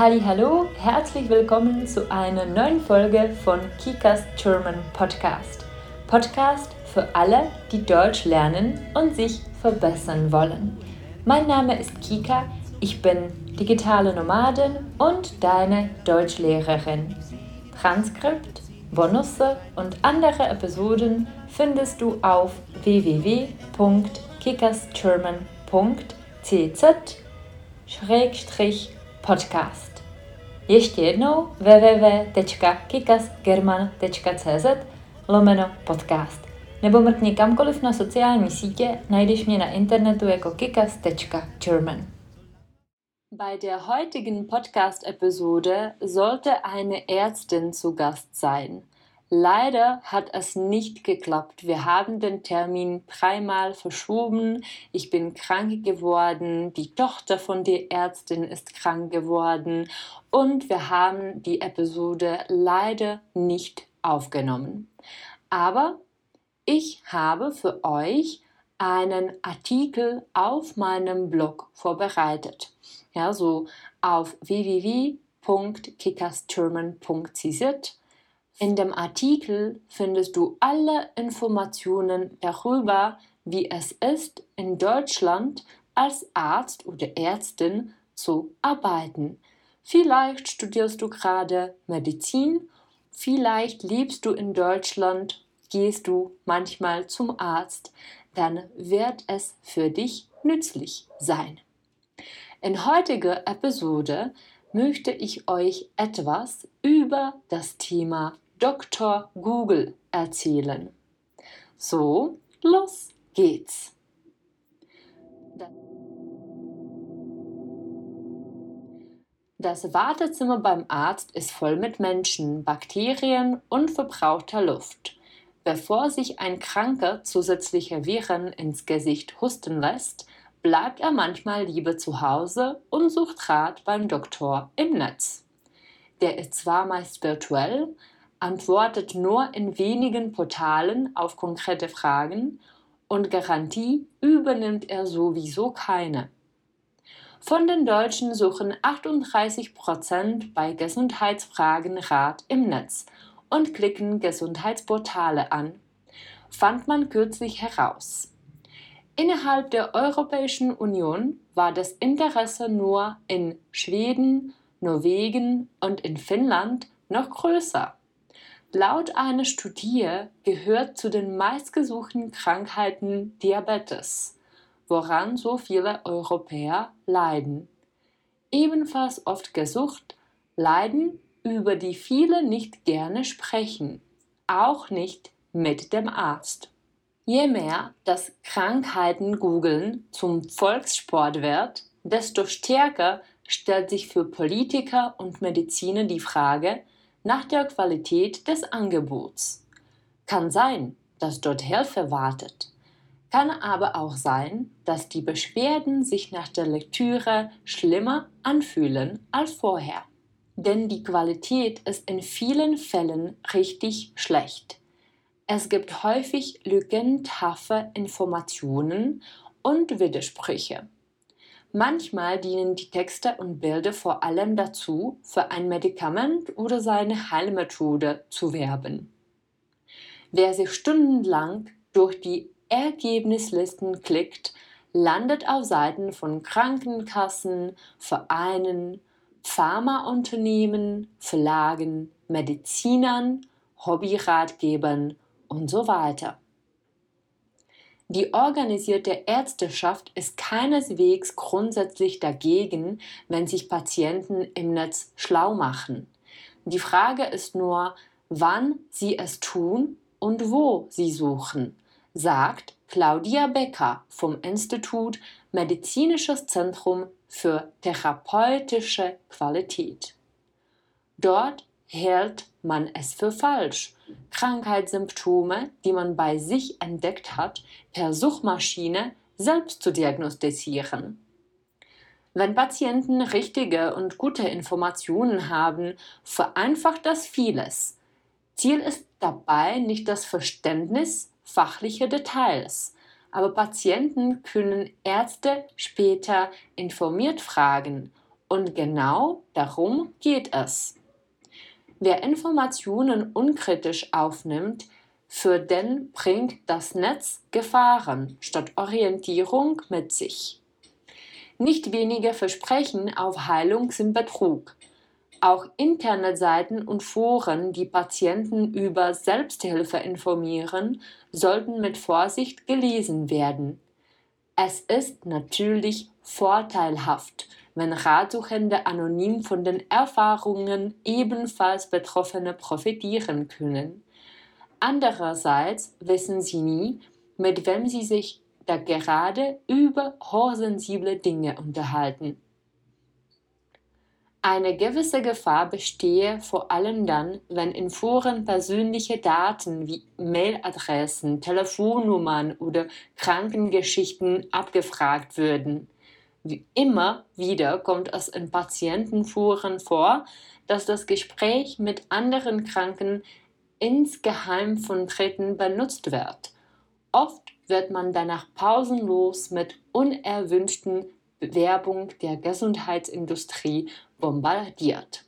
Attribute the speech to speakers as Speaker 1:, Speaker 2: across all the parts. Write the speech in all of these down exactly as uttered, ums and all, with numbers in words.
Speaker 1: Hallihallo, herzlich willkommen zu einer neuen Folge von Kikas German Podcast. Podcast für alle, die Deutsch lernen und sich verbessern wollen. Mein Name ist Kika, ich bin digitale Nomadin und deine Deutschlehrerin. Transkript, Bonusse und andere Episoden findest du auf w w w punkt kikasgerman punkt c z schrägstrich podcast. Ještě jednou w w w tečka kikasgerman tečka c z lomeno podcast. Nebo mrkni kamkoliv na sociální sítě, najdeš mě na internetu jako kikas tečka german. Bei der heutigen Podcast-Episode sollte eine Ärztin zu Gast sein. Leider hat es nicht geklappt. Wir haben den Termin dreimal verschoben. Ich bin krank geworden, die Tochter von der Ärztin ist krank geworden und wir haben die Episode leider nicht aufgenommen. Aber ich habe für euch einen Artikel auf meinem Blog vorbereitet. Ja, so auf w w w punkt kikasgerman punkt c z. In dem Artikel findest du alle Informationen darüber, wie es ist, in Deutschland als Arzt oder Ärztin zu arbeiten. Vielleicht studierst du gerade Medizin, vielleicht lebst du in Deutschland, gehst du manchmal zum Arzt, dann wird es für dich nützlich sein. In heutiger Episode möchte ich euch etwas über das Thema Doktor Google erzählen. So, los geht's! Das Wartezimmer beim Arzt ist voll mit Menschen, Bakterien und verbrauchter Luft. Bevor sich ein Kranker zusätzliche Viren ins Gesicht husten lässt, bleibt er manchmal lieber zu Hause und sucht Rat beim Doktor im Netz. Der ist zwar meist virtuell, antwortet nur in wenigen Portalen auf konkrete Fragen und Garantie übernimmt er sowieso keine. Von den Deutschen suchen achtunddreißig Prozent bei Gesundheitsfragen Rat im Netz und klicken Gesundheitsportale an, fand man kürzlich heraus. Innerhalb der Europäischen Union war das Interesse nur in Schweden, Norwegen und in Finnland noch größer. Laut einer Studie gehört zu den meistgesuchten Krankheiten Diabetes, woran so viele Europäer leiden. Ebenfalls oft gesucht, Leiden, über die viele nicht gerne sprechen, auch nicht mit dem Arzt. Je mehr das Krankheiten-Googeln zum Volkssport wird, desto stärker stellt sich für Politiker und Mediziner die Frage nach der Qualität des Angebots. Kann sein, dass dort Hilfe wartet. Kann aber auch sein, dass die Beschwerden sich nach der Lektüre schlimmer anfühlen als vorher. Denn die Qualität ist in vielen Fällen richtig schlecht. Es gibt häufig lückenhafte Informationen und Widersprüche. Manchmal dienen die Texte und Bilder vor allem dazu, für ein Medikament oder seine Heilmethode zu werben. Wer sich stundenlang durch die Ergebnislisten klickt, landet auf Seiten von Krankenkassen, Vereinen, Pharmaunternehmen, Verlagen, Medizinern, Hobbyratgebern und so weiter. Die organisierte Ärzteschaft ist keineswegs grundsätzlich dagegen, wenn sich Patienten im Netz schlau machen. Die Frage ist nur, wann sie es tun und wo sie suchen, sagt Claudia Becker vom Institut Medizinisches Zentrum für therapeutische Qualität. Dort hält man es für falsch, Krankheitssymptome, die man bei sich entdeckt hat, per Suchmaschine selbst zu diagnostizieren. Wenn Patienten richtige und gute Informationen haben, vereinfacht das vieles. Ziel ist dabei nicht das Verständnis fachlicher Details, aber Patienten können Ärzte später informiert fragen Und genau darum geht es. Wer Informationen unkritisch aufnimmt, für den bringt das Netz Gefahren statt Orientierung mit sich. Nicht wenige Versprechen auf Heilung sind Betrug. Auch Internetseiten und Foren, die Patienten über Selbsthilfe informieren, sollten mit Vorsicht gelesen werden. Es ist natürlich vorteilhaft, wenn Ratsuchende anonym von den Erfahrungen ebenfalls Betroffene profitieren können. Andererseits wissen sie nie, mit wem sie sich da gerade über hochsensible Dinge unterhalten. Eine gewisse Gefahr bestehe vor allem dann, wenn in Foren persönliche Daten wie Mailadressen, Telefonnummern oder Krankengeschichten abgefragt würden. Wie immer wieder kommt es in Patientenforen vor, dass das Gespräch mit anderen Kranken insgeheim von Dritten benutzt wird. Oft wird man danach pausenlos mit unerwünschten Werbung der gesundheitsindustrie bombardiert.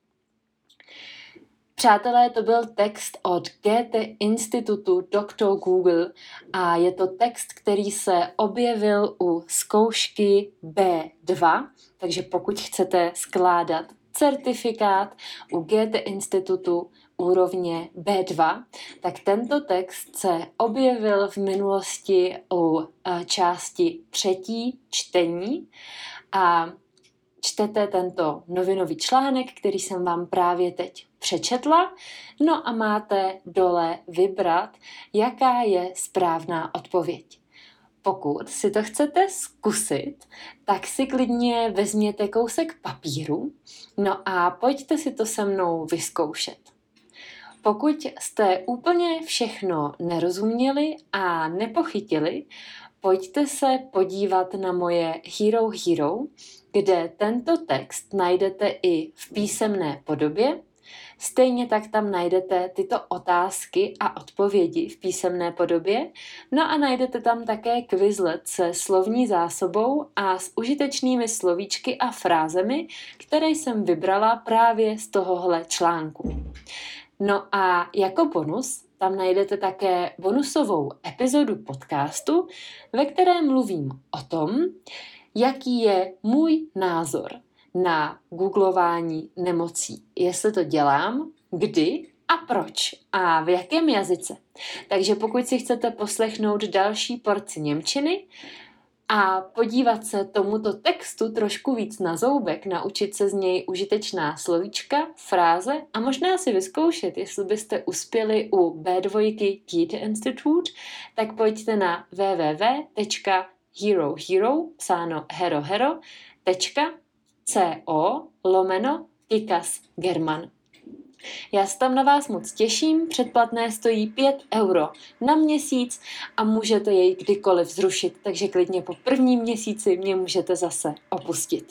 Speaker 1: Přátelé, to byl text od Goethe Institutu doktor Google a je to text, který se objevil u zkoušky bé dva, takže pokud chcete skládat certifikát u Goethe Institutu úrovně bé dva, tak tento text se objevil v minulosti u části třetí čtení a čtete tento novinový článek, který jsem vám právě teď přečetla, no a máte dole vybrat, jaká je správná odpověď. Pokud si to chcete zkusit, tak si klidně vezměte kousek papíru, no a pojďte si to se mnou vyzkoušet. Pokud jste úplně všechno nerozuměli a nepochytili, pojďte se podívat na moje Hero Hero, kde tento text najdete i v písemné podobě. Stejně tak tam najdete tyto otázky a odpovědi v písemné podobě. No a najdete tam také Quizlet se slovní zásobou a s užitečnými slovíčky a frázemi, které jsem vybrala právě z tohohle článku. No a jako bonus tam najdete také bonusovou epizodu podcastu, ve které mluvím o tom, jaký je můj názor na googlování nemocí. Jestli to dělám, kdy a proč a v jakém jazyce. Takže pokud si chcete poslechnout další porci němčiny a podívat se tomuto textu trošku víc na zoubek, naučit se z něj užitečná slovíčka, fráze a možná si vyzkoušet, jestli byste uspěli u bé dva Goethe Institute, tak pojďte na w w w tečka hero hero, psáno hero hero, tečka co lomeno Kikas German. Já se tam na vás moc těším, předplatné stojí pět euro na měsíc a můžete jej kdykoliv zrušit, takže klidně po prvním měsíci mě můžete zase opustit.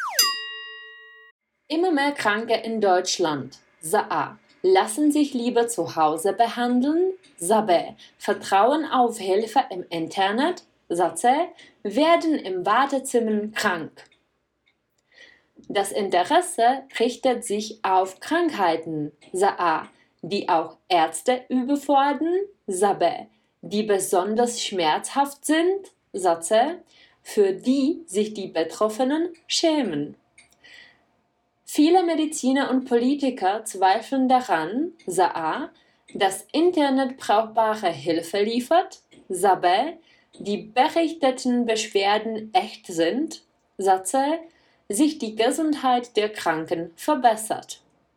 Speaker 1: Immer mehr Kranke in Deutschland. Za A. Lassen sich lieber zu Hause behandeln. Za B. Vertrauen auf Hilfe im Internet. Za C. Werden im Wartezimmer krank. Das Interesse richtet sich auf Krankheiten, Sa A, die auch Ärzte überfordern, Sa B, die besonders schmerzhaft sind, Sa C, für die sich die Betroffenen schämen. Viele Mediziner und Politiker zweifeln daran, Sa A, dass Internet brauchbare Hilfe liefert, Sa B, die berichteten Beschwerden echt sind, Sa C, sich die Gesundheit der Kranken verbessert.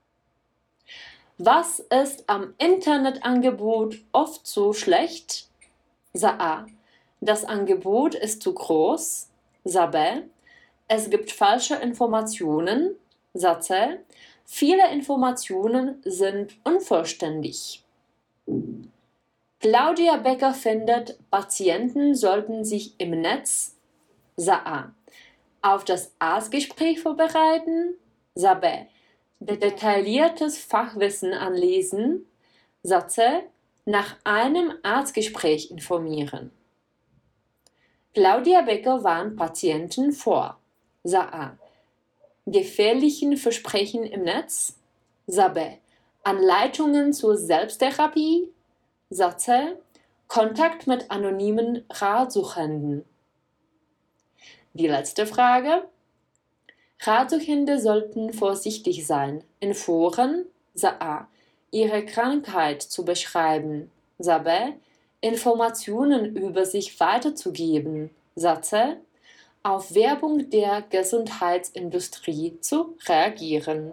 Speaker 1: Was ist am Internetangebot oft so schlecht? Sa A. Das Angebot ist zu groß. Sa B. Es gibt falsche Informationen. Sa C. Viele Informationen sind unvollständig. Claudia Becker findet, Patienten sollten sich im Netz Sa A. auf das Arztgespräch vorbereiten, Sa B. detailliertes Fachwissen anlesen, Sa C. nach einem Arztgespräch informieren. Claudia Becker warnt Patienten vor, Sa A. gefährlichen Versprechen im Netz? Za B. Anleitungen zur Selbsttherapie? Za C. Kontakt mit anonymen Ratsuchenden. Die letzte Frage. Ratsuchende sollten vorsichtig sein, in Foren, Za A, ihre Krankheit zu beschreiben, Za B, Informationen über sich weiterzugeben, Za C, auf Werbung der Gesundheitsindustrie zu reagieren.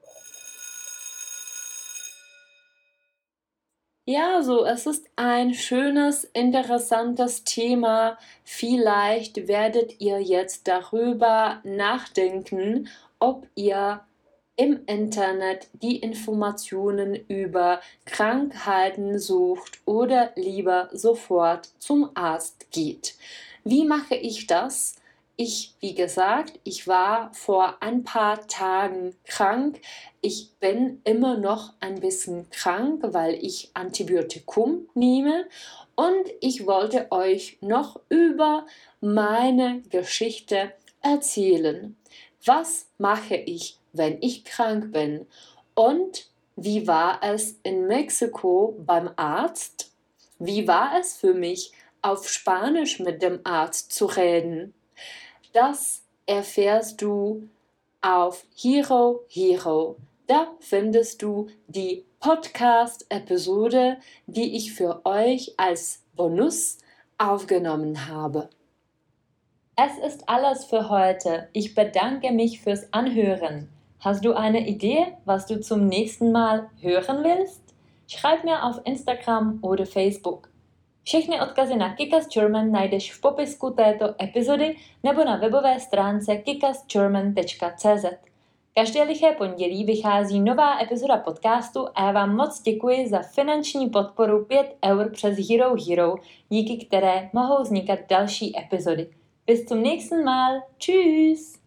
Speaker 1: Ja, so, es ist ein schönes, interessantes Thema. Vielleicht werdet ihr jetzt darüber nachdenken, ob ihr im Internet die Informationen über Krankheiten sucht oder lieber sofort zum Arzt geht. Wie mache ich das? Ich, wie gesagt, ich war vor ein paar Tagen krank. Ich bin immer noch ein bisschen krank, weil ich Antibiotikum nehme. Und ich wollte euch noch über meine Geschichte erzählen. Was mache ich, wenn ich krank bin? Und wie war es in Mexiko beim Arzt? Wie war es für mich, auf Spanisch mit dem Arzt zu reden? Das erfährst du auf Hero Hero. Da findest du die Podcast-Episode, die ich für euch als Bonus aufgenommen habe. Es ist alles für heute. Ich bedanke mich fürs Anhören. Hast du eine Idee, was du zum nächsten Mal hören willst? Schreib mir auf Instagram oder Facebook. Všechny odkazy na Kikas German najdeš v popisku této epizody nebo na webové stránce kikas german tečka cé zet. Každé liché pondělí vychází nová epizoda podcastu a já vám moc děkuji za finanční podporu pět eur přes Hero Hero, díky které mohou vznikat další epizody. Bis zum nächsten Mal. Tschüss!